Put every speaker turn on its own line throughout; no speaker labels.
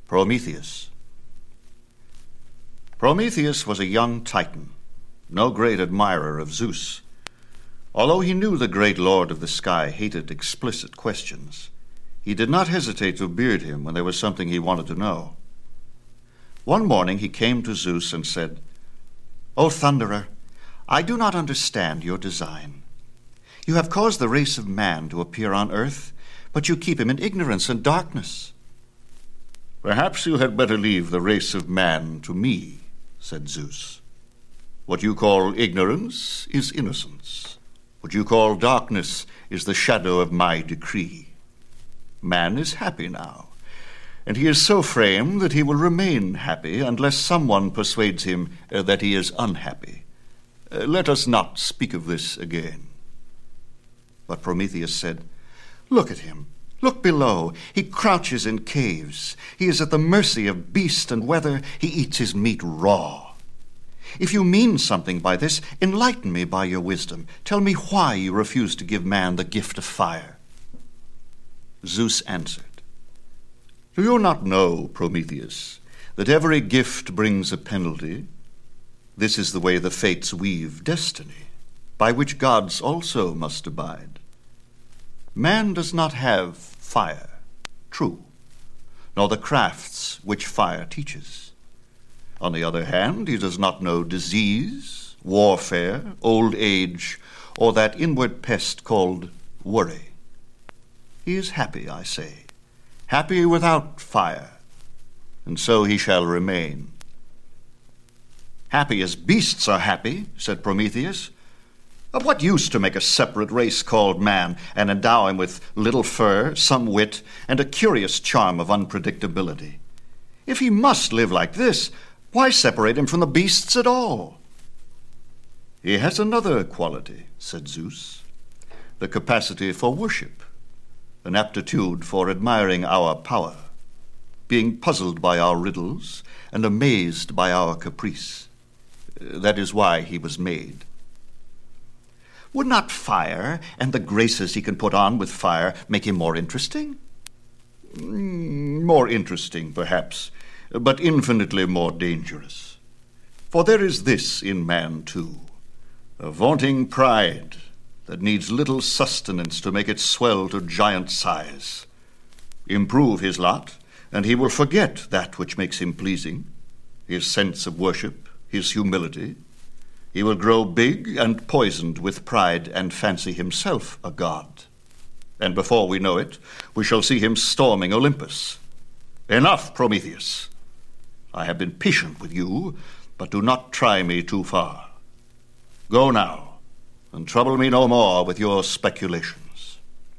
Prometheus. Prometheus was a young Titan, no great admirer of Zeus. Although he knew the great lord of the sky hated explicit questions, he did not hesitate to beard him when there was something he wanted to know. One morning he came to Zeus and said, "O Thunderer, I do not understand your design. You have caused the race of man to appear on earth, but you keep him in ignorance and darkness." "Perhaps you had better leave the race of man to me," said Zeus. "What you call ignorance is innocence. What you call darkness is the shadow of my decree. Man is happy now, and he is so framed that he will remain happy unless someone persuades him that he is unhappy. Let us not speak of this again." But Prometheus said, "Look at him. Look below. He crouches in caves. He is at the mercy of beast and weather. He eats his meat raw. If you mean something by this, enlighten me by your wisdom. Tell me why you refuse to give man the gift of fire." Zeus answered, "Do you not know, Prometheus, that every gift brings a penalty? This is the way the fates weave destiny, by which gods also must abide. Man does not have fire, true, nor the crafts which fire teaches. On the other hand, he does not know disease, warfare, old age, or that inward pest called worry. He is happy, I say, happy without fire, and so he shall remain." "Happy as beasts are happy," said Prometheus. "Of what use to make a separate race called man and endow him with little fur, some wit, and a curious charm of unpredictability? If he must live like this, why separate him from the beasts at all?" "He has another quality," said Zeus, "the capacity for worship, an aptitude for admiring our power, being puzzled by our riddles and amazed by our caprice. That is why he was made." "Would not fire and the graces he can put on with fire make him more interesting?" "More interesting, perhaps, but infinitely more dangerous. For there is this in man, too, a vaunting pride that needs little sustenance to make it swell to giant size. Improve his lot, and he will forget that which makes him pleasing, his sense of worship, his humility. He will grow big and poisoned with pride and fancy himself a god. And before we know it, we shall see him storming Olympus. Enough, Prometheus. I have been patient with you, but do not try me too far. Go now, and trouble me no more with your speculations."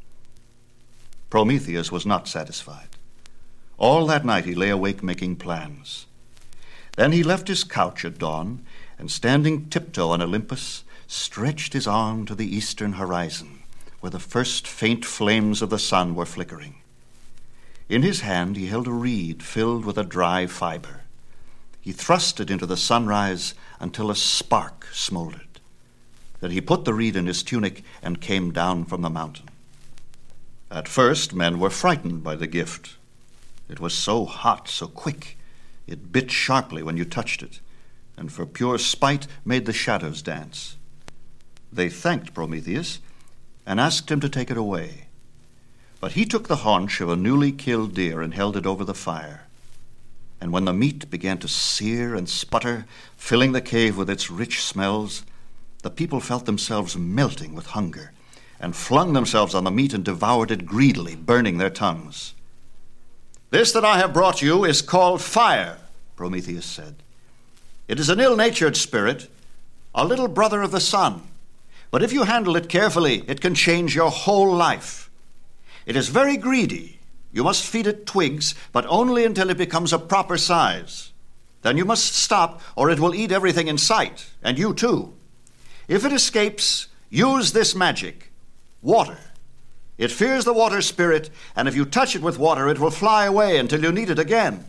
Prometheus was not satisfied. All that night he lay awake making plans. Then he left his couch at dawn, and standing tiptoe on Olympus, stretched his arm to the eastern horizon, where the first faint flames of the sun were flickering. In his hand he held a reed filled with a dry fiber. He thrust it into the sunrise until a spark smoldered. Then he put the reed in his tunic and came down from the mountain. At first men were frightened by the gift. It was so hot, so quick. It bit sharply when you touched it, and for pure spite made the shadows dance. They thanked Prometheus and asked him to take it away. But he took the haunch of a newly killed deer and held it over the fire. And when the meat began to sear and sputter, filling the cave with its rich smells, the people felt themselves melting with hunger and flung themselves on the meat and devoured it greedily, burning their tongues. "This that I have brought you is called fire," Prometheus said. "It is an ill-natured spirit, a little brother of the sun. But if you handle it carefully, it can change your whole life. It is very greedy. You must feed it twigs, but only until it becomes a proper size. Then you must stop, or it will eat everything in sight, and you too. If it escapes, use this magic, water. It fears the water spirit, and if you touch it with water, it will fly away until you need it again."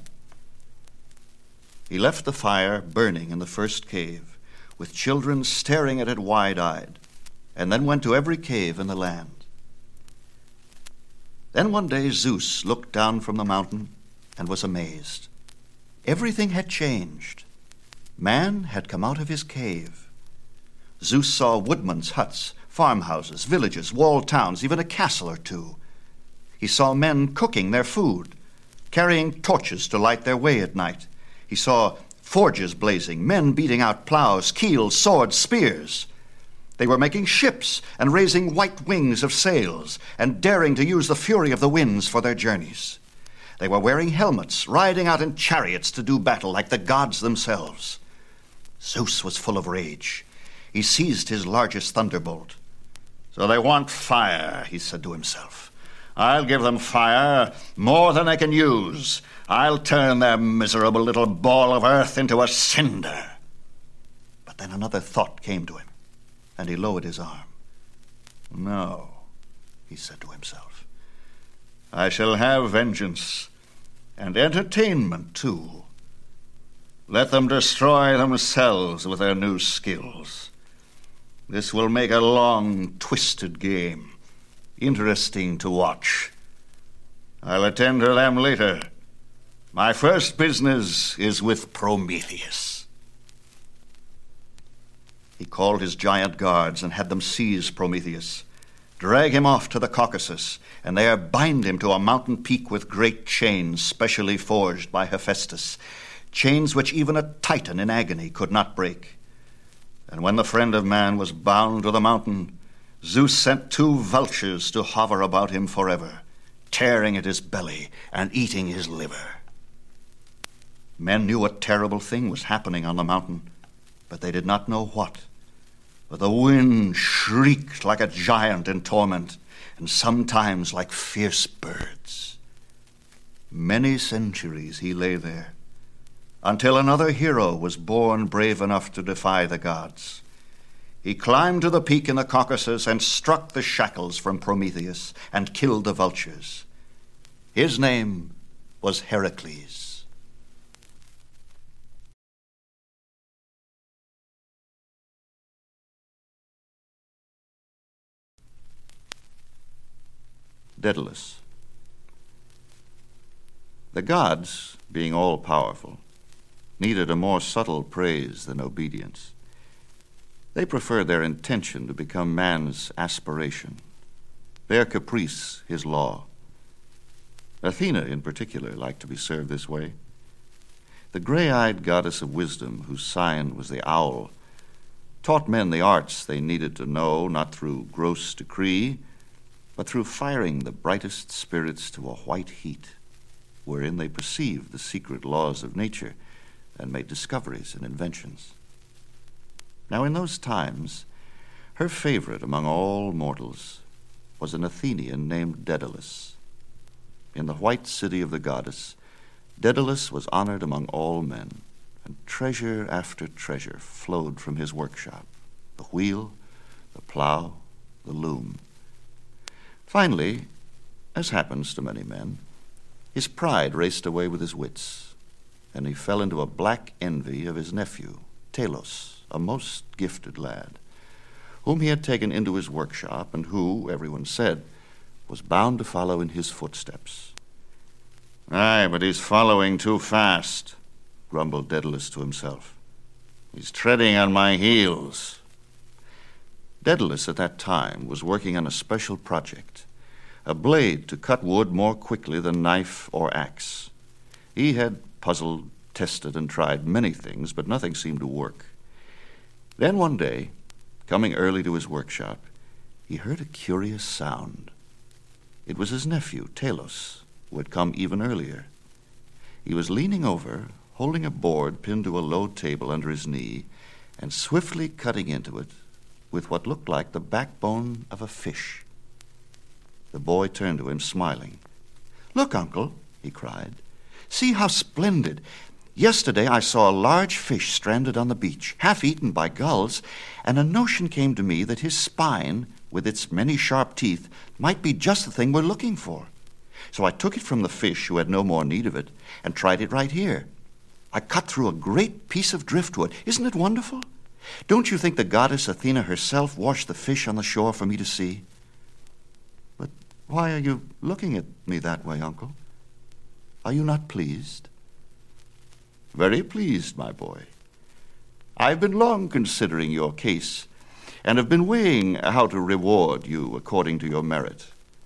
He left the fire burning in the first cave, with children staring at it wide-eyed, and then went to every cave in the land. Then one day Zeus looked down from the mountain and was amazed. Everything had changed. Man had come out of his cave. Zeus saw woodmen's huts, farmhouses, villages, walled towns, even a castle or two. He saw men cooking their food, carrying torches to light their way at night. He saw forges blazing, men beating out plows, keels, swords, spears. They were making ships and raising white wings of sails and daring to use the fury of the winds for their journeys. They were wearing helmets, riding out in chariots to do battle like the gods themselves. Zeus was full of rage. He seized his largest thunderbolt. "So they want fire," he said to himself. "I'll give them fire, more than they can use. I'll turn their miserable little ball of earth into a cinder." But then another thought came to him, and he lowered his arm. "No," he said to himself. "I shall have vengeance, and entertainment too. Let them destroy themselves with their new skills. This will make a long, twisted game, interesting to watch. I'll attend to them later. My first business is with Prometheus." He called his giant guards and had them seize Prometheus, drag him off to the Caucasus, and there bind him to a mountain peak with great chains specially forged by Hephaestus, chains which even a Titan in agony could not break. And when the friend of man was bound to the mountain, Zeus sent 2 vultures to hover about him forever, tearing at his belly and eating his liver. Men knew a terrible thing was happening on the mountain, but they did not know what. But the wind shrieked like a giant in torment, and sometimes like fierce birds. Many centuries he lay there, until another hero was born brave enough to defy the gods. He climbed to the peak in the Caucasus and struck the shackles from Prometheus and killed the vultures. His name was Heracles. Daedalus. The gods, being all-powerful, needed a more subtle praise than obedience. They preferred their intention to become man's aspiration, their caprice his law. Athena, in particular, liked to be served this way. The gray-eyed goddess of wisdom, whose sign was the owl, taught men the arts they needed to know, not through gross decree, but through firing the brightest spirits to a white heat, wherein they perceived the secret laws of nature and made discoveries and inventions. Now in those times, her favorite among all mortals was an Athenian named Daedalus. In the white city of the goddess, Daedalus was honored among all men, and treasure after treasure flowed from his workshop, the wheel, the plow, the loom. Finally, as happens to many men, his pride raced away with his wits, and he fell into a black envy of his nephew, Talos, a most gifted lad, whom he had taken into his workshop and who, everyone said, was bound to follow in his footsteps. "Aye, but he's following too fast," grumbled Daedalus to himself. "He's treading on my heels." Daedalus at that time was working on a special project, a blade to cut wood more quickly than knife or axe. He had puzzled, tested, and tried many things, but nothing seemed to work. Then one day, coming early to his workshop, he heard a curious sound. It was his nephew, Talos, who had come even earlier. He was leaning over, holding a board pinned to a low table under his knee, and swiftly cutting into it with what looked like the backbone of a fish. The boy turned to him, smiling. "Look, Uncle," he cried. "See how splendid. Yesterday I saw a large fish stranded on the beach, half eaten by gulls, and a notion came to me that his spine, with its many sharp teeth, might be just the thing we're looking for. So I took it from the fish, who had no more need of it, and tried it right here. I cut through a great piece of driftwood. Isn't it wonderful? Don't you think the goddess Athena herself washed the fish on the shore for me to see?" "But why are you looking at me that way, Uncle?" Are you not pleased?" "Very pleased, my boy. I've been long considering your case, and have been weighing how to reward you according to your merit.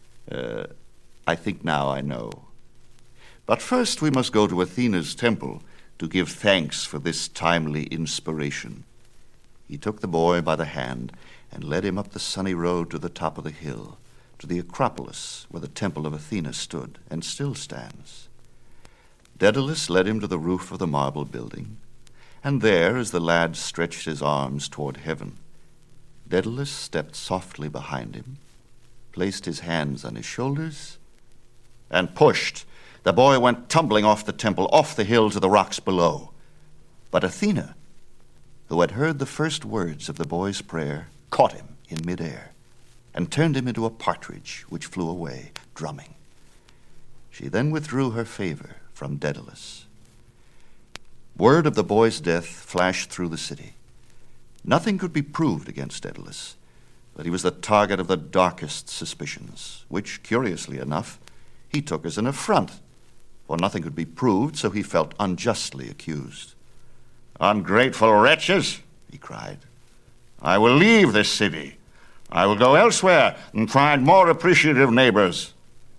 I think now I know. But first we must go to Athena's temple to give thanks for this timely inspiration." He took the boy by the hand and led him up the sunny road to the top of the hill, to the Acropolis, where the temple of Athena stood and still stands. Daedalus led him to the roof of the marble building, and there, as the lad stretched his arms toward heaven, Daedalus stepped softly behind him, placed his hands on his shoulders, and pushed. The boy went tumbling off the temple, off the hill to the rocks below. But Athena, who had heard the first words of the boy's prayer, caught him in midair and turned him into a partridge which flew away, drumming. She then withdrew her favor from Daedalus. Word of the boy's death flashed through the city. Nothing could be proved against Daedalus, but he was the target of the darkest suspicions, which, curiously enough, he took as an affront, for nothing could be proved, so he felt unjustly accused. "Ungrateful wretches," he cried, "I will leave this city. I will go elsewhere and find more appreciative neighbors."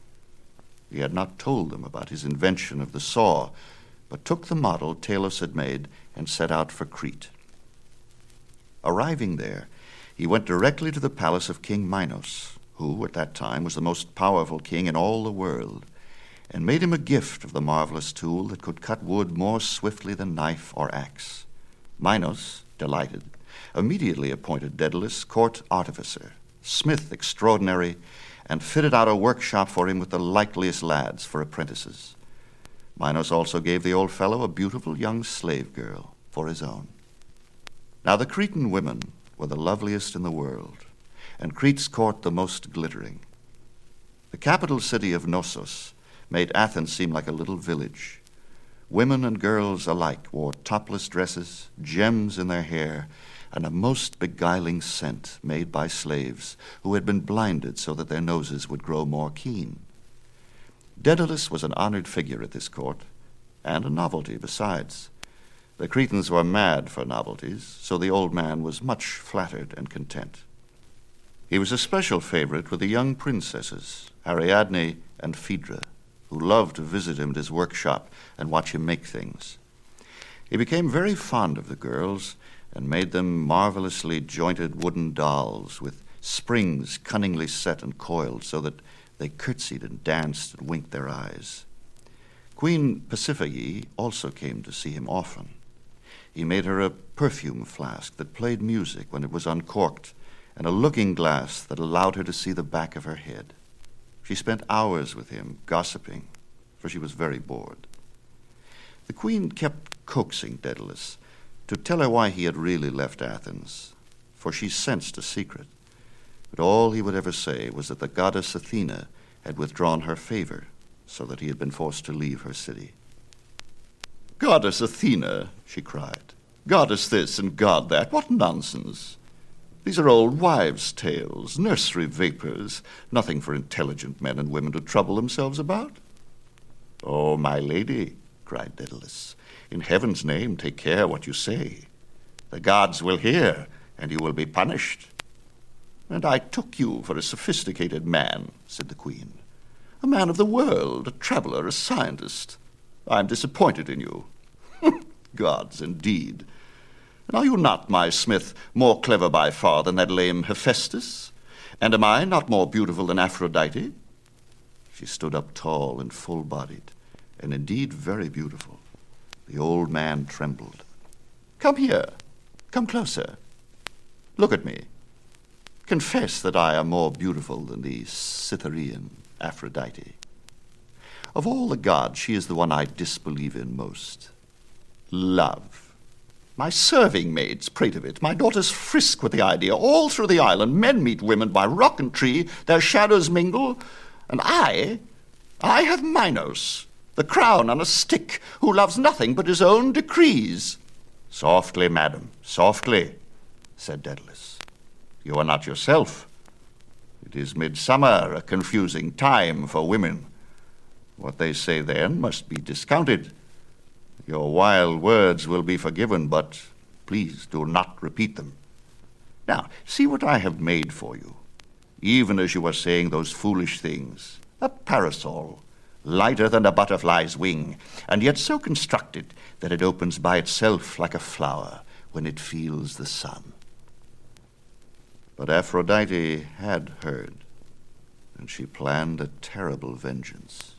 He had not told them about his invention of the saw, but took the model Talos had made and set out for Crete. Arriving there, he went directly to the palace of King Minos, who at that time was the most powerful king in all the world, and made him a gift of the marvelous tool that could cut wood more swiftly than knife or axe. Minos, delighted, immediately appointed Daedalus court artificer, smith extraordinary, and fitted out a workshop for him with the likeliest lads for apprentices. Minos also gave the old fellow a beautiful young slave girl for his own. Now the Cretan women were the loveliest in the world, and Crete's court the most glittering. The capital city of Knossos made Athens seem like a little village. Women and girls alike wore topless dresses, gems in their hair, and a most beguiling scent made by slaves who had been blinded so that their noses would grow more keen. Daedalus was an honored figure at this court, and a novelty besides. The Cretans were mad for novelties, so the old man was much flattered and content. He was a special favorite with the young princesses, Ariadne and Phaedra, who loved to visit him at his workshop and watch him make things. He became very fond of the girls and made them marvelously jointed wooden dolls with springs cunningly set and coiled so that they curtsied and danced and winked their eyes. Queen Pasiphae also came to see him often. He made her a perfume flask that played music when it was uncorked, and a looking glass that allowed her to see the back of her head. She spent hours with him, gossiping, for she was very bored. The queen kept coaxing Daedalus to tell her why he had really left Athens, for she sensed a secret. But all he would ever say was that the goddess Athena had withdrawn her favor, so that he had been forced to leave her city. "Goddess Athena," she cried. "Goddess this and god that. What nonsense! These are old wives' tales, nursery vapors, nothing for intelligent men and women to trouble themselves about." "Oh, my lady," cried Daedalus, "in heaven's name take care what you say. The gods will hear, and you will be punished." "And I took you for a sophisticated man," said the queen. "A man of the world, a traveler, a scientist. I am disappointed in you." "Gods, indeed. And are you not, my smith, more clever by far than that lame Hephaestus? And am I not more beautiful than Aphrodite?" She stood up tall and full-bodied, and indeed very beautiful. The old man trembled. "Come here. Come closer. Look at me. Confess that I am more beautiful than the Cytherean Aphrodite. Of all the gods, she is the one I disbelieve in most. Love. My serving maids prate of it. My daughters frisk with the idea. All through the island, men meet women by rock and tree. Their shadows mingle. And I have Minos, the crown on a stick, who loves nothing but his own decrees." "Softly, madam, softly," said Daedalus. "You are not yourself. It is midsummer, a confusing time for women. What they say then must be discounted. Your wild words will be forgiven, but please do not repeat them. Now, see what I have made for you, even as you were saying those foolish things. A parasol, lighter than a butterfly's wing, and yet so constructed that it opens by itself like a flower when it feels the sun. But Aphrodite had heard, and she planned a terrible vengeance.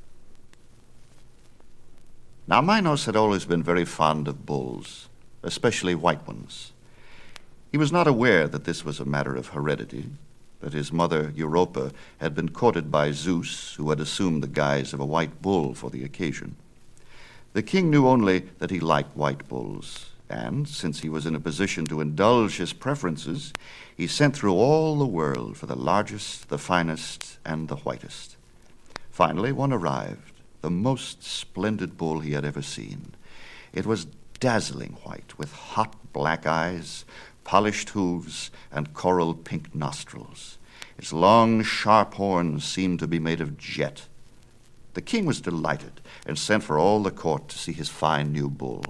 Now, Minos had always been very fond of bulls, especially white ones. He was not aware that this was a matter of heredity, that his mother, Europa, had been courted by Zeus, who had assumed the guise of a white bull for the occasion. The king knew only that he liked white bulls, and, since he was in a position to indulge his preferences, he sent through all the world for the largest, the finest, and the whitest. Finally, one arrived, the most splendid bull he had ever seen. It was dazzling white, with hot black eyes, polished hooves, and coral pink nostrils. Its long, sharp horns seemed to be made of jet. The king was delighted and sent for all the court to see his fine new bull.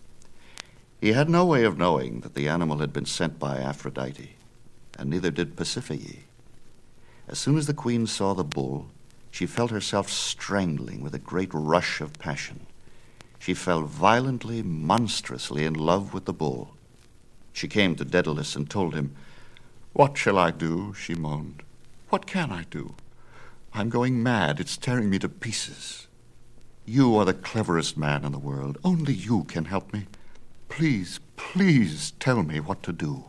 He had no way of knowing that the animal had been sent by Aphrodite, and neither did Pasiphae. As soon as the queen saw the bull, she felt herself strangling with a great rush of passion. She fell violently, monstrously in love with the bull. She came to Daedalus and told him, "What shall I do?" she moaned. "What can I do? I'm going mad. It's tearing me to pieces. You are the cleverest man in the world. Only you can help me. Please, please tell me what to do."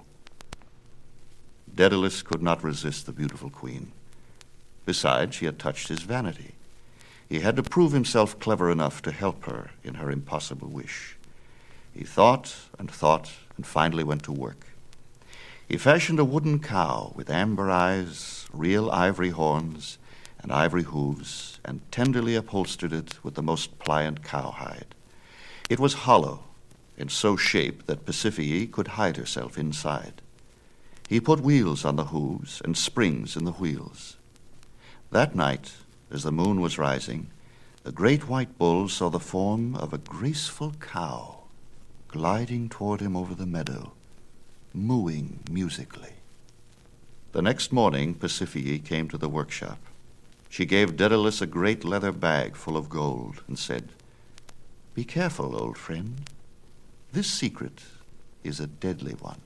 Daedalus could not resist the beautiful queen. Besides, she had touched his vanity. He had to prove himself clever enough to help her in her impossible wish. He thought and finally went to work. He fashioned a wooden cow with amber eyes, real ivory horns, and ivory hooves, and tenderly upholstered it with the most pliant cowhide. It was hollow, and so shaped that Pasiphae could hide herself inside. He put wheels on the hooves and springs in the wheels. That night, as the moon was rising, the great white bull saw the form of a graceful cow gliding toward him over the meadow, mooing musically. The next morning, Pasiphae came to the workshop. She gave Daedalus a great leather bag full of gold and said, "Be careful, old friend. This secret is a deadly one."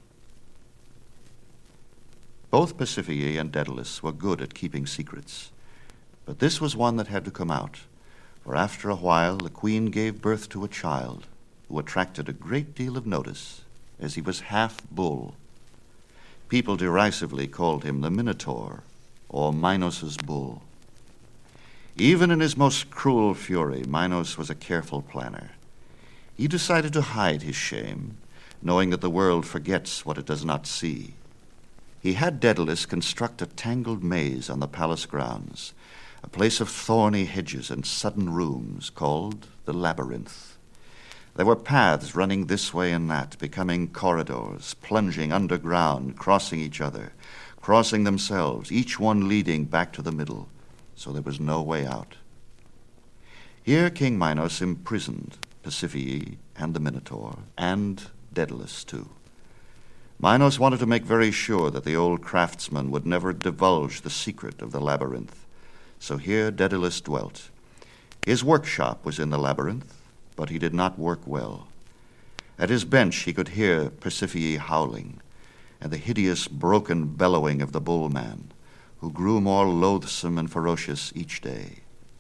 Both Pasiphae and Daedalus were good at keeping secrets, but this was one that had to come out, for after a while the queen gave birth to a child who attracted a great deal of notice, as he was half bull. People derisively called him the Minotaur, or Minos's bull. Even in his most cruel fury, Minos was a careful planner. He decided to hide his shame, knowing that the world forgets what it does not see. He had Daedalus construct a tangled maze on the palace grounds, a place of thorny hedges and sudden rooms called the labyrinth. There were paths running this way and that, becoming corridors, plunging underground, crossing each other, crossing themselves, each one leading back to the middle, so there was no way out. Here King Minos imprisoned Pasiphae and the Minotaur, and Daedalus too. Minos wanted to make very sure that the old craftsman would never divulge the secret of the labyrinth, so here Daedalus dwelt. His workshop was in the labyrinth, but he did not work well. At his bench he could hear Pasiphae howling, and the hideous broken bellowing of the bullman, who grew more loathsome and ferocious each day.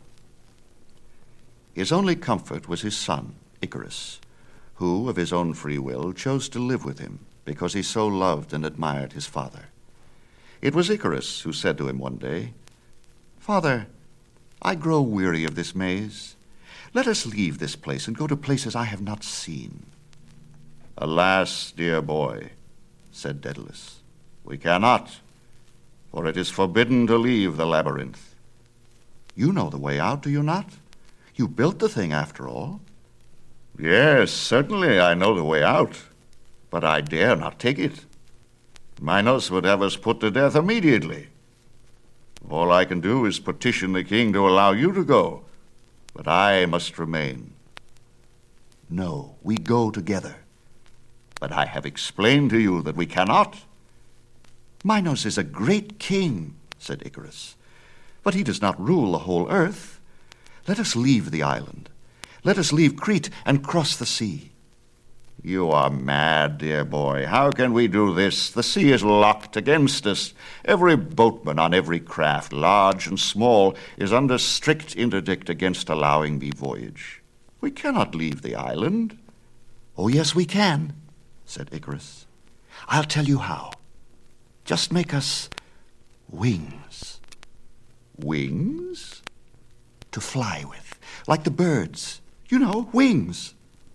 His only comfort was his son, Icarus, who, of his own free will, chose to live with him because he so loved and admired his father. It was Icarus who said to him one day, "Father, I grow weary of this maze. Let us leave this place and go to places I have not seen." "Alas, dear boy," said Daedalus, "we cannot, for it is forbidden to leave the labyrinth." "You know the way out, do you not? You built the thing, after all." "Yes, certainly I know the way out, but I dare not take it. Minos would have us put to death immediately. All I can do is petition the king to allow you to go, but I must remain.
No, we go together.
But I have explained to you that we cannot.
Minos is a great king, said Icarus, but he does not rule the whole earth. Let us leave the island. Let us leave Crete and cross the sea.
You are mad, dear boy. How can we do this? The sea is locked against us. Every boatman on every craft, large and small, is under strict interdict against allowing me voyage. We cannot leave the island.
Oh, yes, we can, said Icarus. I'll tell you how. Just make us wings.
Wings?
To fly with, like the birds. You know, wings.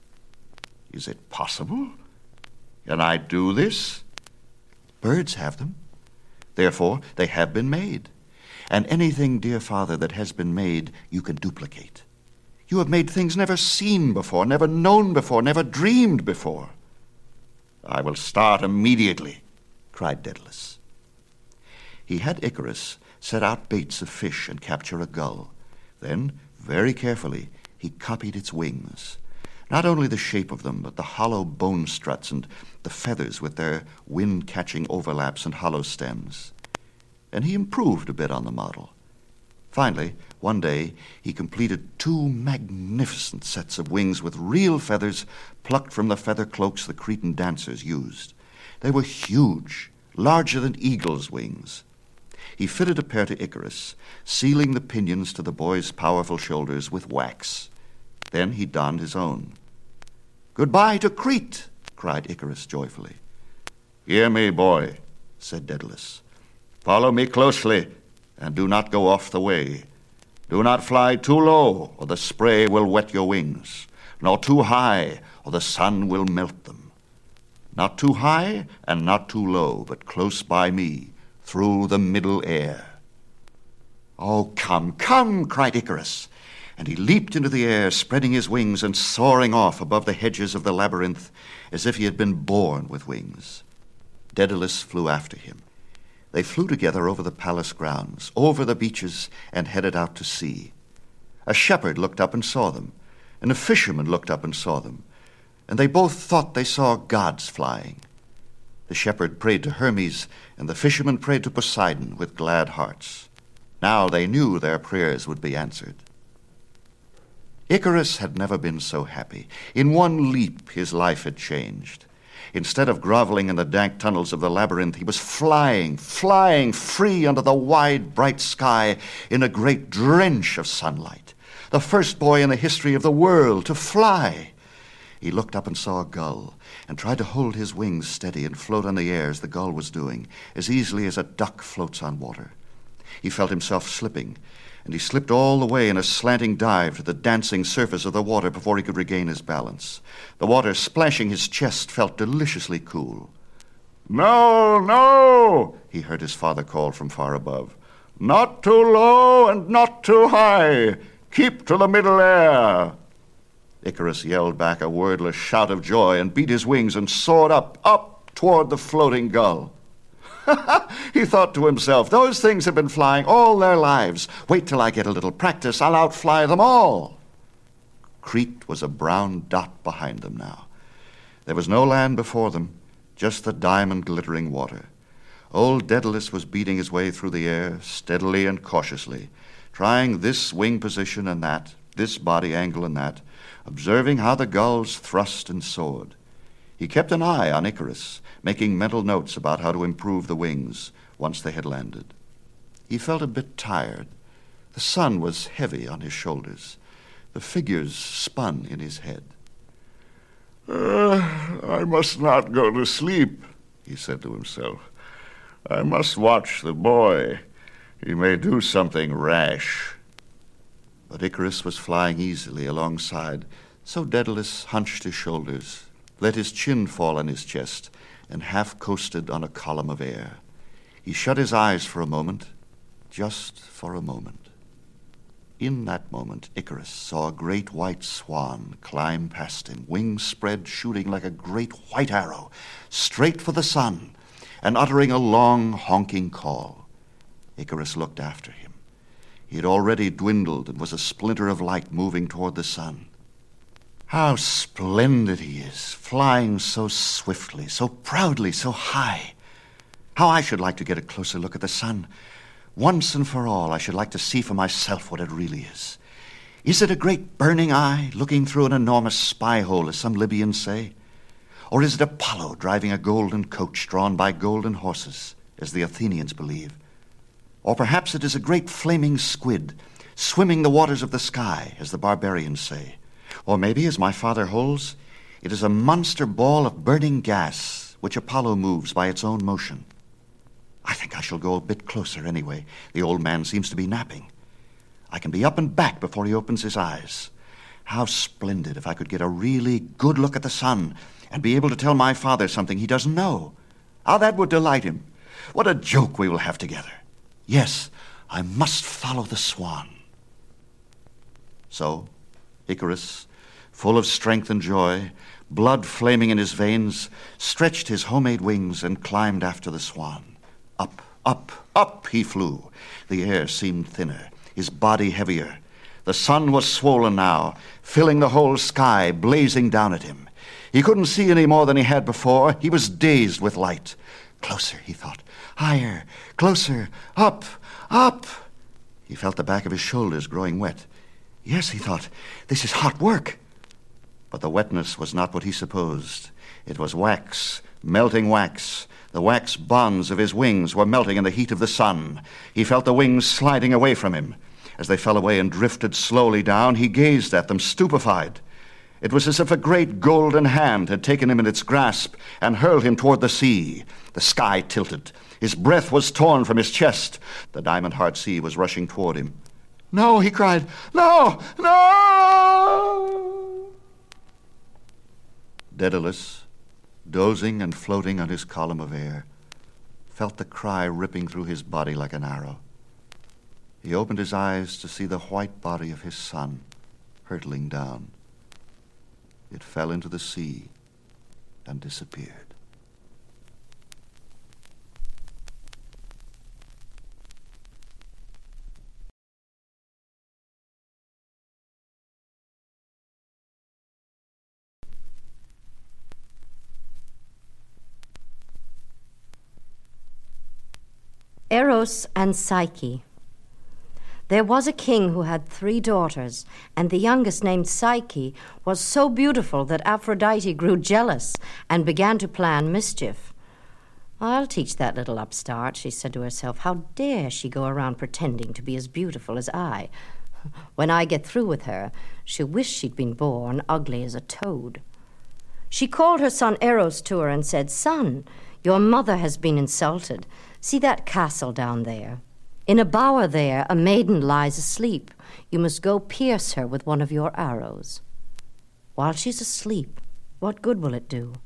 Is it possible? Can I do this?
Birds have them. Therefore, they have been made. And anything, dear Father, that has been made, you can duplicate. You have made things never seen before, never known before, never dreamed before.
I will start immediately,
cried Daedalus. He had Icarus set out baits of fish and capture a gull. Then, very carefully, he copied its wings. Not only the shape of them, but the hollow bone struts and the feathers with their wind-catching overlaps and hollow stems. And he improved a bit on the model. Finally, one day, he completed 2 magnificent sets of wings with real feathers plucked from the feather cloaks the Cretan dancers used. They were huge, larger than eagle's wings. He fitted a pair to Icarus, sealing the pinions to the boy's powerful shoulders with wax. Then he donned his own. "Goodbye to Crete!" cried Icarus joyfully.
"Hear me, boy,"
said Daedalus.
"Follow me closely, and do not go off the way. Do not fly too low, or the spray will wet your wings, nor too high, or the sun will melt them. Not too high and not too low, but close by me, through the middle air."
"Oh, come, come!" cried Icarus. And he leaped into the air, spreading his wings and soaring off above the hedges of the labyrinth as if he had been born with wings. Daedalus flew after him. They flew together over the palace grounds, over the beaches, and headed out to sea. A shepherd looked up and saw them, and a fisherman looked up and saw them, and they both thought they saw gods flying. The shepherd prayed to Hermes, and the fisherman prayed to Poseidon with glad hearts. Now they knew their prayers would be answered. Icarus had never been so happy. In one leap, his life had changed. Instead of groveling in the dank tunnels of the labyrinth, he was flying free under the wide, bright sky in a great drench of sunlight. The first boy in the history of the world to fly. He looked up and saw a gull, and tried to hold his wings steady and float on the air as the gull was doing, as easily as a duck floats on water. He felt himself slipping, and he slipped all the way in a slanting dive to the dancing surface of the water before he could regain his balance. The water splashing his chest felt deliciously cool.
"No, no,"
he heard his father call from far above.
"Not too low and not too high. Keep to the middle air."
Icarus yelled back a wordless shout of joy and beat his wings and soared up toward the floating gull. He thought to himself, those things have been flying all their lives. Wait till I get a little practice, I'll outfly them all. Crete was a brown dot behind them now. There was no land before them, just the diamond-glittering water. Old Daedalus was beating his way through the air, steadily and cautiously, trying this wing position and that, this body angle and that, observing how the gulls thrust and soared. He kept an eye on Icarus, making mental notes about how to improve the wings once they had landed. He felt a bit tired. The sun was heavy on his shoulders. The figures spun in his head.
I must not go to sleep," he said to himself. "I must watch the boy. He may do something rash."
But Icarus was flying easily alongside, so Daedalus hunched his shoulders, let his chin fall on his chest, and half coasted on a column of air. He shut his eyes for a moment, just for a moment. In that moment, Icarus saw a great white swan climb past him, wings spread, shooting like a great white arrow, straight for the sun, and uttering a long, honking call. Icarus looked after him. He had already dwindled and was a splinter of light moving toward the sun. How splendid he is, flying so swiftly, so proudly, so high. How I should like to get a closer look at the sun. Once and for all, I should like to see for myself what it really is. Is it a great burning eye looking through an enormous spy hole, as some Libyans say? Or is it Apollo driving a golden coach drawn by golden horses, as the Athenians believe? Or perhaps it is a great flaming squid swimming the waters of the sky, as the barbarians say. Or maybe, as my father holds, it is a monster ball of burning gas which Apollo moves by its own motion. I think I shall go a bit closer anyway. The old man seems to be napping. I can be up and back before he opens his eyes. How splendid if I could get a really good look at the sun and be able to tell my father something he doesn't know. How that would delight him. What a joke we will have together. Yes, I must follow the swan. So, Icarus, full of strength and joy, blood flaming in his veins, stretched his homemade wings and climbed after the swan. Up, up, up he flew. The air seemed thinner, his body heavier. The sun was swollen now, filling the whole sky, blazing down at him. He couldn't see any more than he had before. He was dazed with light. Closer, he thought. Higher, closer, up, up. He felt the back of his shoulders growing wet. Yes, he thought, this is hot work. But the wetness was not what he supposed. It was wax, melting wax. The wax bonds of his wings were melting in the heat of the sun. He felt the wings sliding away from him. As they fell away and drifted slowly down, he gazed at them, stupefied. It was as if a great golden hand had taken him in its grasp and hurled him toward the sea. The sky tilted. His breath was torn from his chest. The diamond-heart sea was rushing toward him. No, he cried. No! No! Daedalus, dozing and floating on his column of air, felt the cry ripping through his body like an arrow. He opened his eyes to see the white body of his son hurtling down. It fell into the sea and disappeared.
Eros and Psyche. There was a king who had 3 daughters, and the youngest, named Psyche, was so beautiful that Aphrodite grew jealous and began to plan mischief. I'll teach that little upstart, she said to herself. How dare she go around pretending to be as beautiful as I? When I get through with her, she'll wish she'd been born ugly as a toad. She called her son Eros to her and said, Son, your mother has been insulted. See that castle down there? In a bower there, a maiden lies asleep. You must go pierce her with one of your arrows. While she's asleep, what good will it do?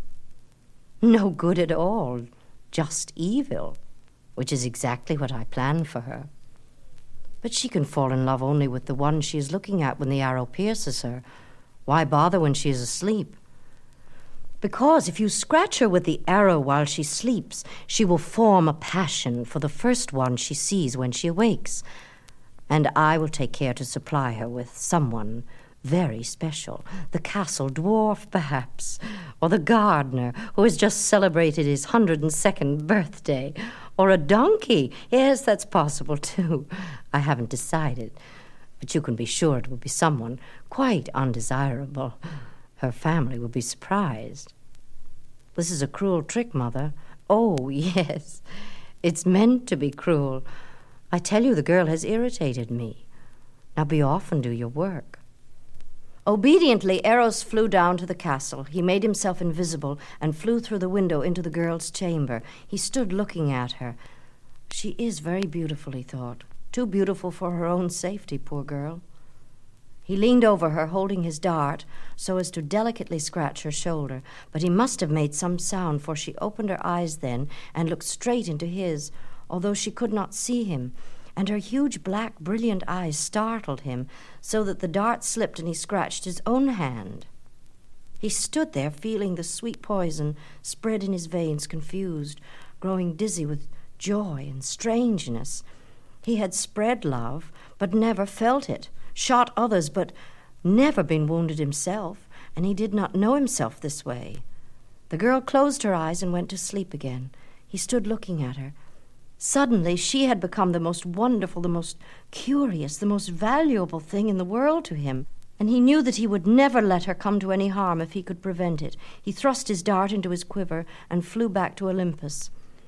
No good at all, just evil, which is exactly what I planned for her. But she can fall in love only with the one she is looking at when the arrow pierces her. Why bother when she is asleep? Because if you scratch her with the arrow while she sleeps, she will form a passion for the first one she sees when she awakes. And I will take care to supply her with someone very special. The castle dwarf, perhaps, or the gardener who has just celebrated his 102nd birthday, or a donkey. Yes, that's possible, too. I haven't decided, but you can be sure it will be someone quite undesirable. Her family will be surprised. This is a cruel trick, Mother. Oh, yes. It's meant to be cruel. I tell you, the girl has irritated me. Now be off and do your work. Obediently, Eros flew down to the castle. He made himself invisible and flew through the window into the girl's chamber. He stood looking at her. She is very beautiful, he thought. Too beautiful for her own safety, poor girl. He leaned over her, holding his dart, so as to delicately scratch her shoulder. But he must have made some sound, for she opened her eyes then and looked straight into his, although she could not see him. And her huge, black, brilliant eyes startled him, so that the dart slipped and he scratched his own hand. He stood there, feeling the sweet poison spread in his veins, confused, growing dizzy with joy and strangeness. He had spread love, but never felt it, shot others, but never been wounded himself, and he did not know himself this way. The girl closed her eyes and went to sleep again. He stood looking at her. Suddenly she had become the most wonderful, the most curious, the most valuable thing in the world to him, and he knew that he would never let her come to any harm if he could prevent it. He thrust his dart into his quiver and flew back to Olympus.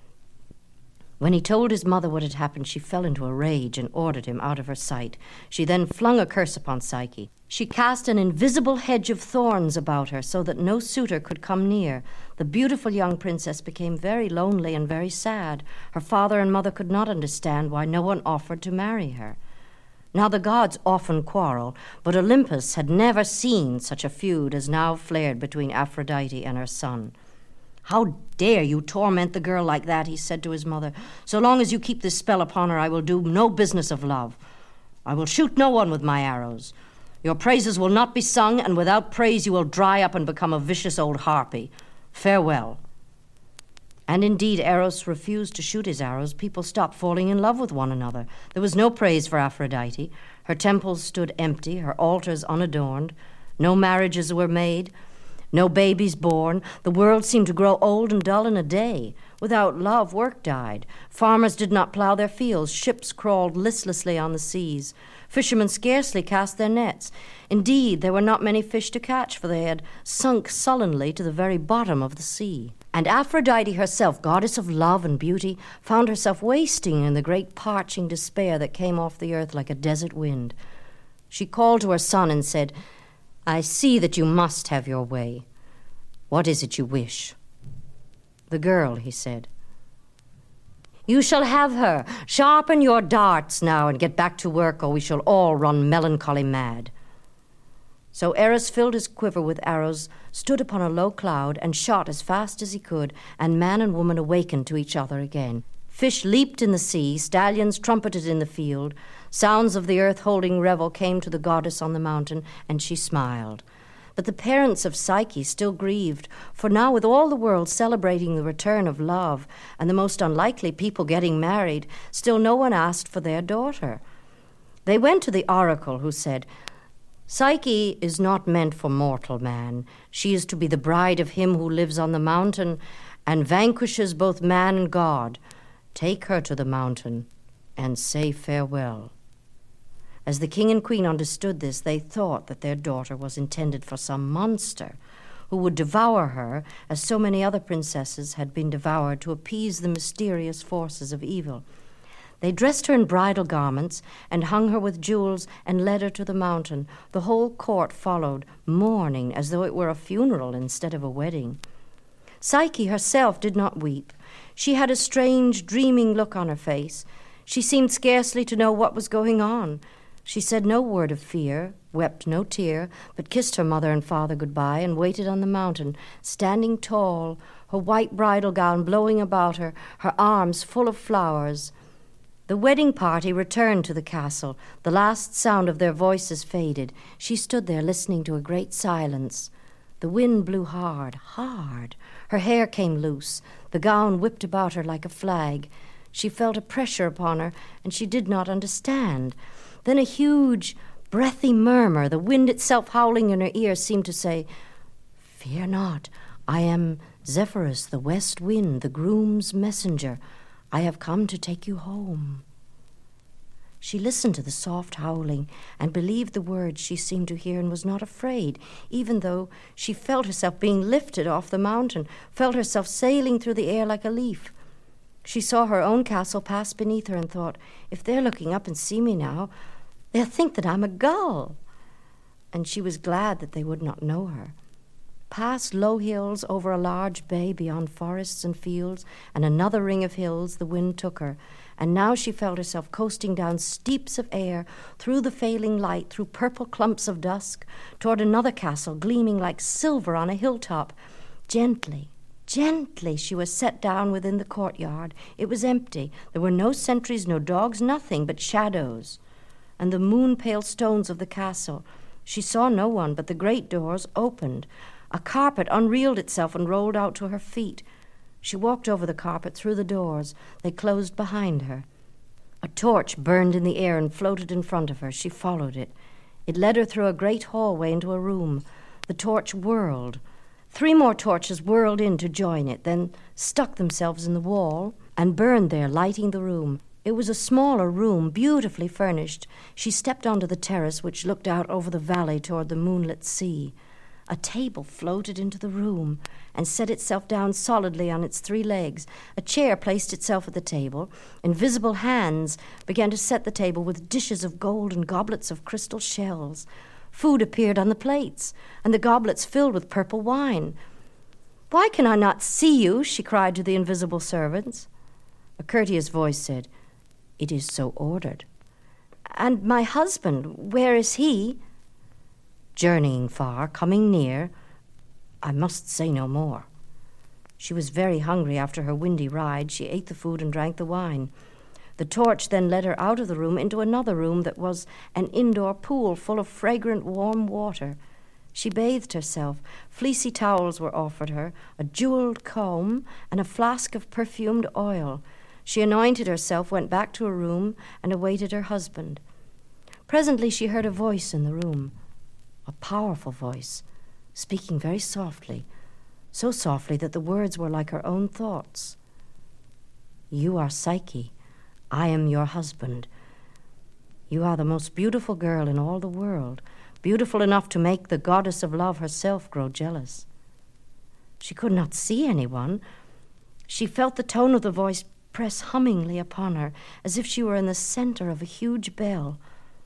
When he told his mother what had happened, she fell into a rage and ordered him out of her sight. She then flung a curse upon Psyche. She cast an invisible hedge of thorns about her so that no suitor could come near. The beautiful young princess became very lonely and very sad. Her father and mother could not understand why no one offered to marry her. Now the gods often quarrel, but Olympus had never seen such a feud as now flared between Aphrodite and her son. "How dare you torment the girl like that?" he said to his mother. "So long as you keep this spell upon her, I will do no business of love. I will shoot no one with my arrows. Your praises will not be sung, and without praise you will dry up and become a vicious old harpy. Farewell." And indeed, Eros refused to shoot his arrows. People stopped falling in love with one another. There was no praise for Aphrodite. Her temples stood empty, her altars unadorned. No marriages were made. No babies born. The world seemed to grow old and dull in a day. Without love, work died. Farmers did not plow their fields. Ships crawled listlessly on the seas. Fishermen scarcely cast their nets. Indeed, there were not many fish to catch, for they had sunk sullenly to the very bottom of the sea. And Aphrodite herself, goddess of love and beauty, found herself wasting in the great parching despair that came off the earth like a desert wind. She called to her son and said, "I see that you must have your way. What is it you wish?" "The girl," he said. "You shall have her. Sharpen your darts now and get back to work, or we shall all run melancholy mad." So Eros filled his quiver with arrows, stood upon a low cloud, and shot as fast as he could, and man and woman awakened to each other again. Fish leaped in the sea, stallions trumpeted in the field. Sounds of the earth holding revel came to the goddess on the mountain, and she smiled. But the parents of Psyche still grieved, for now with all the world celebrating the return of love, and the most unlikely people getting married, still no one asked for their daughter. They went to the oracle, who said, "Psyche is not meant for mortal man. She is to be the bride of him who lives on the mountain and vanquishes both man and god. Take her to the mountain and say farewell." As the king and queen understood this, they thought that their daughter was intended for some monster who would devour her, as so many other princesses had been devoured to appease the mysterious forces of evil. They dressed her in bridal garments and hung her with jewels and led her to the mountain. The whole court followed, mourning as though it were a funeral instead of a wedding. Psyche herself did not weep. She had a strange, dreaming look on her face. She seemed scarcely to know what was going on. She said no word of fear, wept no tear, but kissed her mother and father goodbye and waited on the mountain, standing tall, her white bridal gown blowing about her, her arms full of flowers. The wedding party returned to the castle. The last sound of their voices faded. She stood there listening to a great silence. The wind blew hard, hard. Her hair came loose. The gown whipped about her like a flag. She felt a pressure upon her, and she did not understand. Then a huge, breathy murmur, the wind itself howling in her ear, seemed to say, "Fear not, I am Zephyrus, the west wind, the groom's messenger. I have come to take you home." She listened to the soft howling and believed the words she seemed to hear and was not afraid, even though she felt herself being lifted off the mountain, felt herself sailing through the air like a leaf. She saw her own castle pass beneath her and thought, "If they're looking up and see me now, they'll think that I'm a gull." And she was glad that they would not know her. Past low hills, over a large bay beyond forests and fields, and another ring of hills, the wind took her, and now she felt herself coasting down steeps of air, through the failing light, through purple clumps of dusk, toward another castle gleaming like silver on a hilltop. Gently, gently she was set down within the courtyard. It was empty. There were no sentries, no dogs, nothing but shadows and the moon-pale stones of the castle. She saw no one, but the great doors opened. A carpet unreeled itself and rolled out to her feet. She walked over the carpet, through the doors. They closed behind her. A A torch burned in the air and floated in front of her. She followed it. It led her through a great hallway into a room. The torch whirled. 3 more torches whirled in to join it, then stuck themselves in the wall and burned there, lighting the room. It was a smaller room, beautifully furnished. She stepped onto the terrace, which looked out over the valley toward the moonlit sea. A table floated into the room and set itself down solidly on its 3 legs. A chair placed itself at the table. Invisible hands began to set the table with dishes of gold and goblets of crystal shells. Food appeared on the plates, and the goblets filled with purple wine. "Why can I not see you?" she cried to the invisible servants. A courteous voice said, "It is so ordered." "And my husband, where is he?" "Journeying far, coming near. I must say no more." She was very hungry after her windy ride. She ate the food and drank the wine. The torch then led her out of the room into another room that was an indoor pool full of fragrant, warm water. She bathed herself. Fleecy towels were offered her, a jeweled comb, and a flask of perfumed oil. She anointed herself, went back to her room, and awaited her husband. Presently she heard a voice in the room, a powerful voice, speaking very softly, so softly that the words were like her own thoughts. "You are Psyche. I am your husband. You are the most beautiful girl in all the world, beautiful enough to make the goddess of love herself grow jealous." She could not see anyone. She felt the tone of the voice press hummingly upon her, as if she were in the center of a huge bell.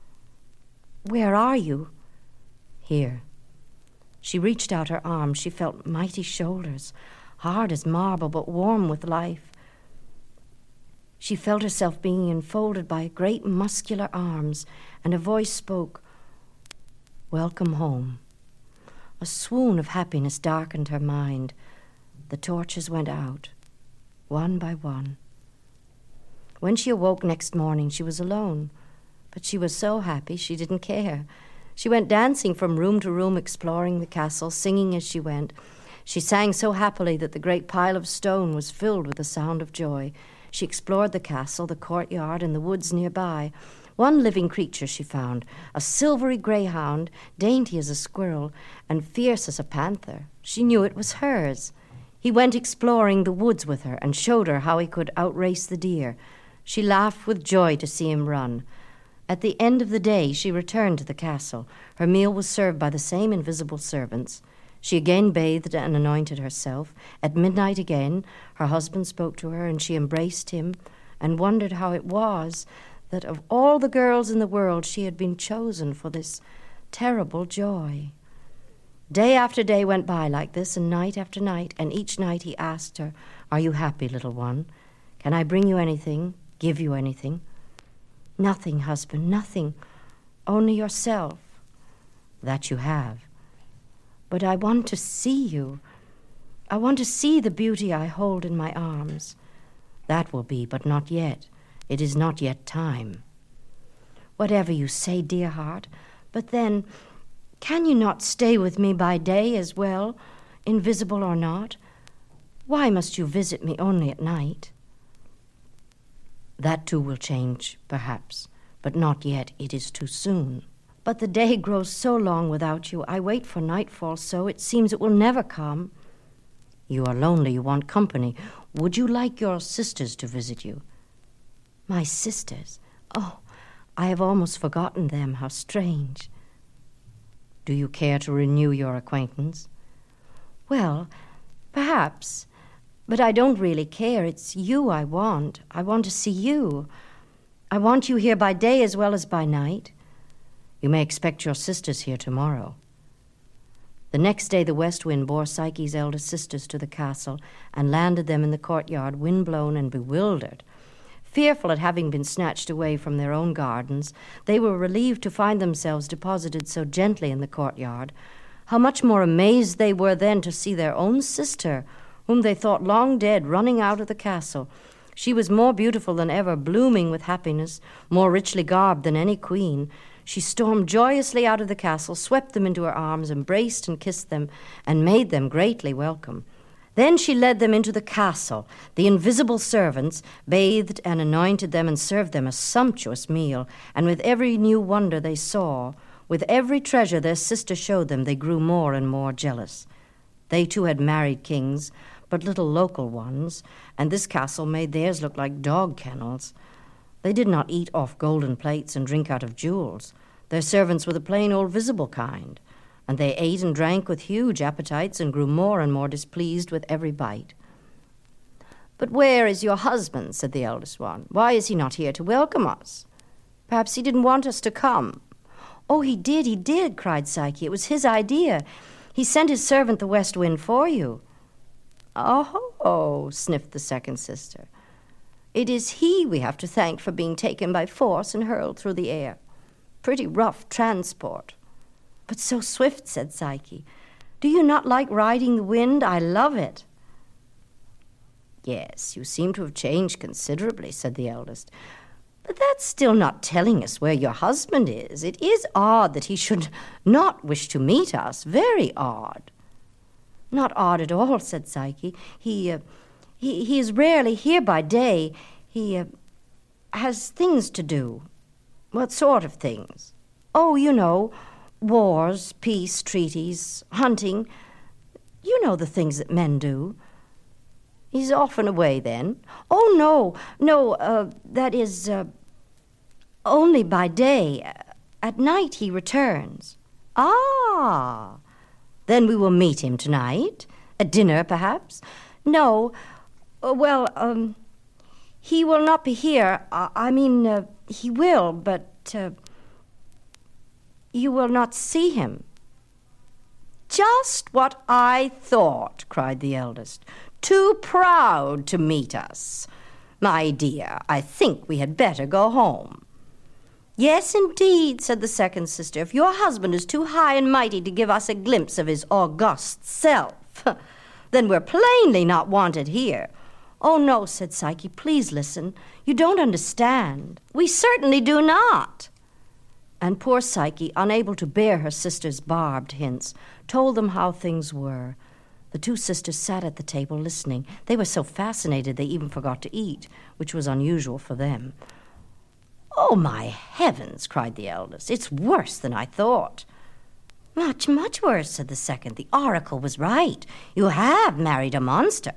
"Where are you?" "Here." She reached out her arms. She felt mighty shoulders, hard as marble but warm with life. She felt herself being enfolded by great muscular arms, and a voice spoke, "Welcome home." A swoon of happiness darkened her mind. The torches went out, one by one. When she awoke next morning, she was alone, but she was so happy she didn't care. She went dancing from room to room, exploring the castle, singing as she went. She sang so happily that the great pile of stone was filled with the sound of joy. She explored the castle, the courtyard, and the woods nearby. One living creature she found, a silvery greyhound, dainty as a squirrel and fierce as a panther. She knew it was hers. He went exploring the woods with her and showed her how he could outrace the deer. She laughed with joy to see him run. At the end of the day, she returned to the castle. Her meal was served by the same invisible servants. She again bathed and anointed herself. At midnight again, her husband spoke to her, and she embraced him and wondered how it was that of all the girls in the world she had been chosen for this terrible joy. Day after day went by like this, and night after night, and each night he asked her, "Are you happy, little one? Can I bring you anything, give you anything?" "Nothing, husband, nothing. Only yourself." "That you have. But I want to see you. I want to see the beauty I hold in my arms." "That will be, but not yet. It is not yet time." "Whatever you say, dear heart. But then, can you not stay with me by day as well, invisible or not? Why must you visit me only at night?" "That too will change, perhaps, but not yet. It is too soon." "But the day grows so long without you. I wait for nightfall so it seems it will never come." "You are lonely. You want company. Would you like your sisters to visit you?" "My sisters? Oh, I have almost forgotten them. How strange." "Do you care to renew your acquaintance?" "Well, perhaps. But I don't really care. It's you I want. I want to see you. I want you here by day as well as by night." "You may expect your sisters here tomorrow." The next day the west wind bore Psyche's elder sisters to the castle and landed them in the courtyard, wind-blown and bewildered. Fearful at having been snatched away from their own gardens, they were relieved to find themselves deposited so gently in the courtyard. How much more amazed they were then to see their own sister, whom they thought long dead, running out of the castle. She was more beautiful than ever, blooming with happiness, more richly garbed than any queen. She stormed joyously out of the castle, swept them into her arms, embraced and kissed them, and made them greatly welcome. Then she led them into the castle. The invisible servants bathed and anointed them and served them a sumptuous meal. And with every new wonder they saw, with every treasure their sister showed them, they grew more and more jealous. They too had married kings, but little local ones, and this castle made theirs look like dog kennels. They did not eat off golden plates and drink out of jewels. Their servants were the plain old visible kind, and they ate and drank with huge appetites and grew more and more displeased with every bite. "But where is your husband?" said the eldest one. "Why is he not here to welcome us? Perhaps he didn't want us to come." "Oh, he did," cried Psyche. "It was his idea. He sent his servant the West Wind for you." "Oh," sniffed the second sister. "It is he we have to thank for being taken by force and hurled through the air. Pretty rough transport." "But so swift," said Psyche. "Do you not like riding the wind? I love it." "Yes, you seem to have changed considerably," said the eldest. "But that's still not telling us where your husband is. It is odd that he should not wish to meet us. Very odd." "Not odd at all," said Psyche. He is rarely here by day. He has things to do." "What sort of things?" "Oh, you know, wars, peace treaties, hunting. You know the things that men do." "He's often away, then?" "Oh, no, that is, only by day. At night he returns." "Ah, then we will meet him tonight? At dinner, perhaps?" "No, he will not be here. He will, but you will not see him." "Just what I thought," cried the eldest. "Too proud to meet us. My dear, I think we had better go home." "Yes, indeed," said the second sister. "If your husband is too high and mighty to give us a glimpse of his august self, then we're plainly not wanted here." "Oh, no," said Psyche. "Please listen. You don't understand." "We certainly do not." And poor Psyche, unable to bear her sister's barbed hints, told them how things were. The two sisters sat at the table listening. They were so fascinated they even forgot to eat, which was unusual for them. "Oh, my heavens," cried the eldest. "It's worse than I thought." "Much, much worse," said the second. "The oracle was right. You have married a monster."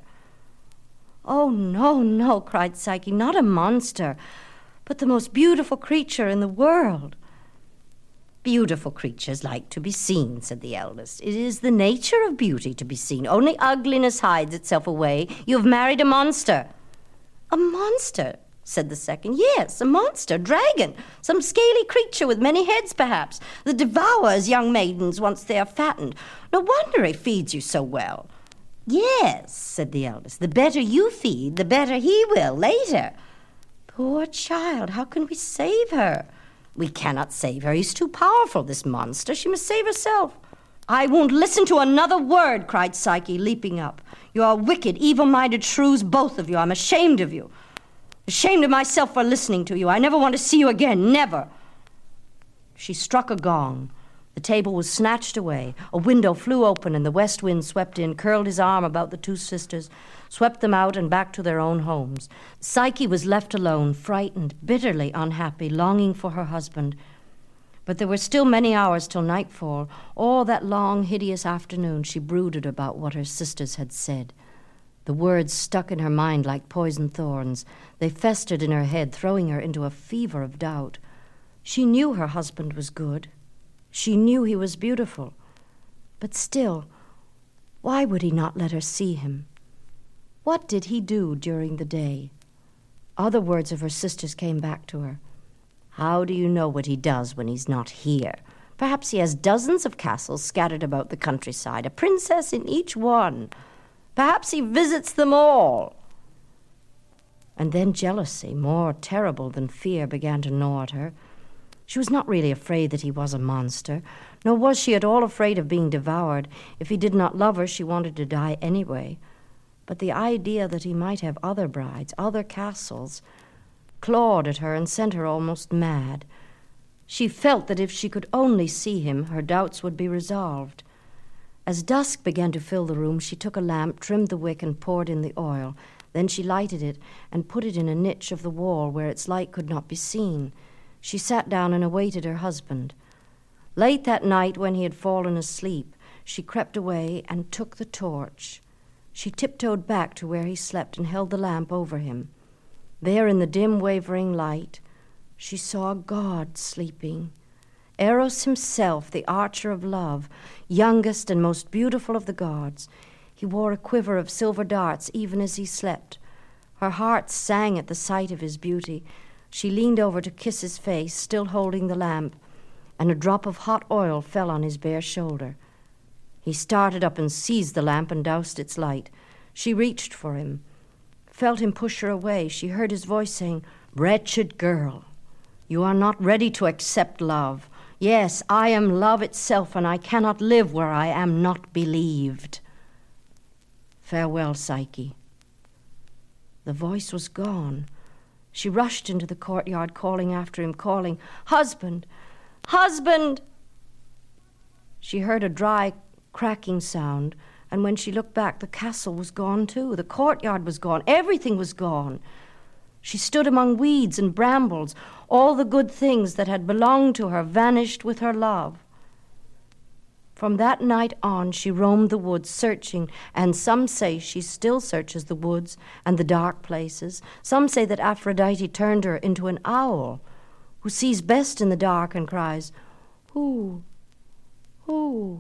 "Oh, no," cried Psyche. "Not a monster, but the most beautiful creature in the world." "Beautiful creatures like to be seen," said the eldest. "It is the nature of beauty to be seen. Only ugliness hides itself away. You have married a monster." "A monster?" said the second. "Yes, a monster, dragon, some scaly creature with many heads, perhaps, that devours young maidens once they are fattened. No wonder he feeds you so well." "Yes," said the eldest. "The better you feed, the better he will later." "Poor child, how can we save her?" "We cannot save her. He's too powerful, this monster. She must save herself." "I won't listen to another word," cried Psyche, leaping up. "You are wicked, evil-minded shrews, both of you. I'm ashamed of you. Ashamed of myself for listening to you. I never want to see you again, never." She struck a gong. The table was snatched away. A window flew open, and the west wind swept in, curled his arm about the two sisters, swept them out and back to their own homes. Psyche was left alone, frightened, bitterly unhappy, longing for her husband. But there were still many hours till nightfall. All that long, hideous afternoon she brooded about what her sisters had said. The words stuck in her mind like poisoned thorns. They festered in her head, throwing her into a fever of doubt. She knew her husband was good. She knew he was beautiful. But still, why would he not let her see him? What did he do during the day? Other words of her sister's came back to her. "How do you know what he does when he's not here? Perhaps he has dozens of castles scattered about the countryside, a princess in each one. Perhaps he visits them all." And then jealousy, more terrible than fear, began to gnaw at her. She was not really afraid that he was a monster, nor was she at all afraid of being devoured. If he did not love her, she wanted to die anyway. But the idea that he might have other brides, other castles, clawed at her and sent her almost mad. She felt that if she could only see him, her doubts would be resolved. As dusk began to fill the room, she took a lamp, trimmed the wick, and poured in the oil. Then she lighted it and put it in a niche of the wall where its light could not be seen. She sat down and awaited her husband. Late that night, when he had fallen asleep, she crept away and took the torch. She tiptoed back to where he slept and held the lamp over him. There, in the dim, wavering light, she saw God sleeping. Eros himself, the archer of love, youngest and most beautiful of the gods. He wore a quiver of silver darts even as he slept. Her heart sang at the sight of his beauty. She leaned over to kiss his face, still holding the lamp, and a drop of hot oil fell on his bare shoulder. He started up and seized the lamp and doused its light. She reached for him, felt him push her away. She heard his voice saying, "Wretched girl, you are not ready to accept love. Yes, I am love itself, and I cannot live where I am not believed. Farewell, Psyche." The voice was gone. She rushed into the courtyard, calling after him, calling, "Husband! Husband!" She heard a dry, cracking sound, and when she looked back, the castle was gone too. The courtyard was gone. Everything was gone. She stood among weeds and brambles. All the good things that had belonged to her vanished with her love. From that night on, she roamed the woods searching, and some say she still searches the woods and the dark places. Some say that Aphrodite turned her into an owl who sees best in the dark and cries, "Who? Who?"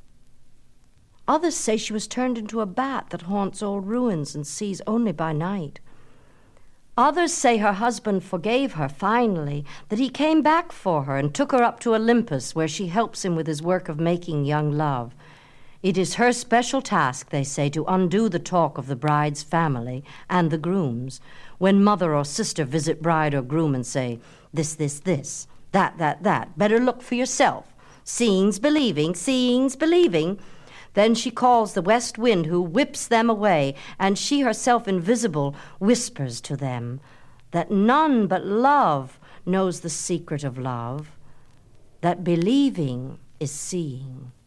Others say she was turned into a bat that haunts old ruins and sees only by night. Others say her husband forgave her finally, that he came back for her and took her up to Olympus, where she helps him with his work of making young love. It is her special task, they say, to undo the talk of the bride's family and the groom's. When mother or sister visit bride or groom and say, "This, that, better look for yourself. Seeing's believing, seeing's believing." Then she calls the west wind, who whips them away, and she herself invisible whispers to them that none but love knows the secret of love, that believing is seeing.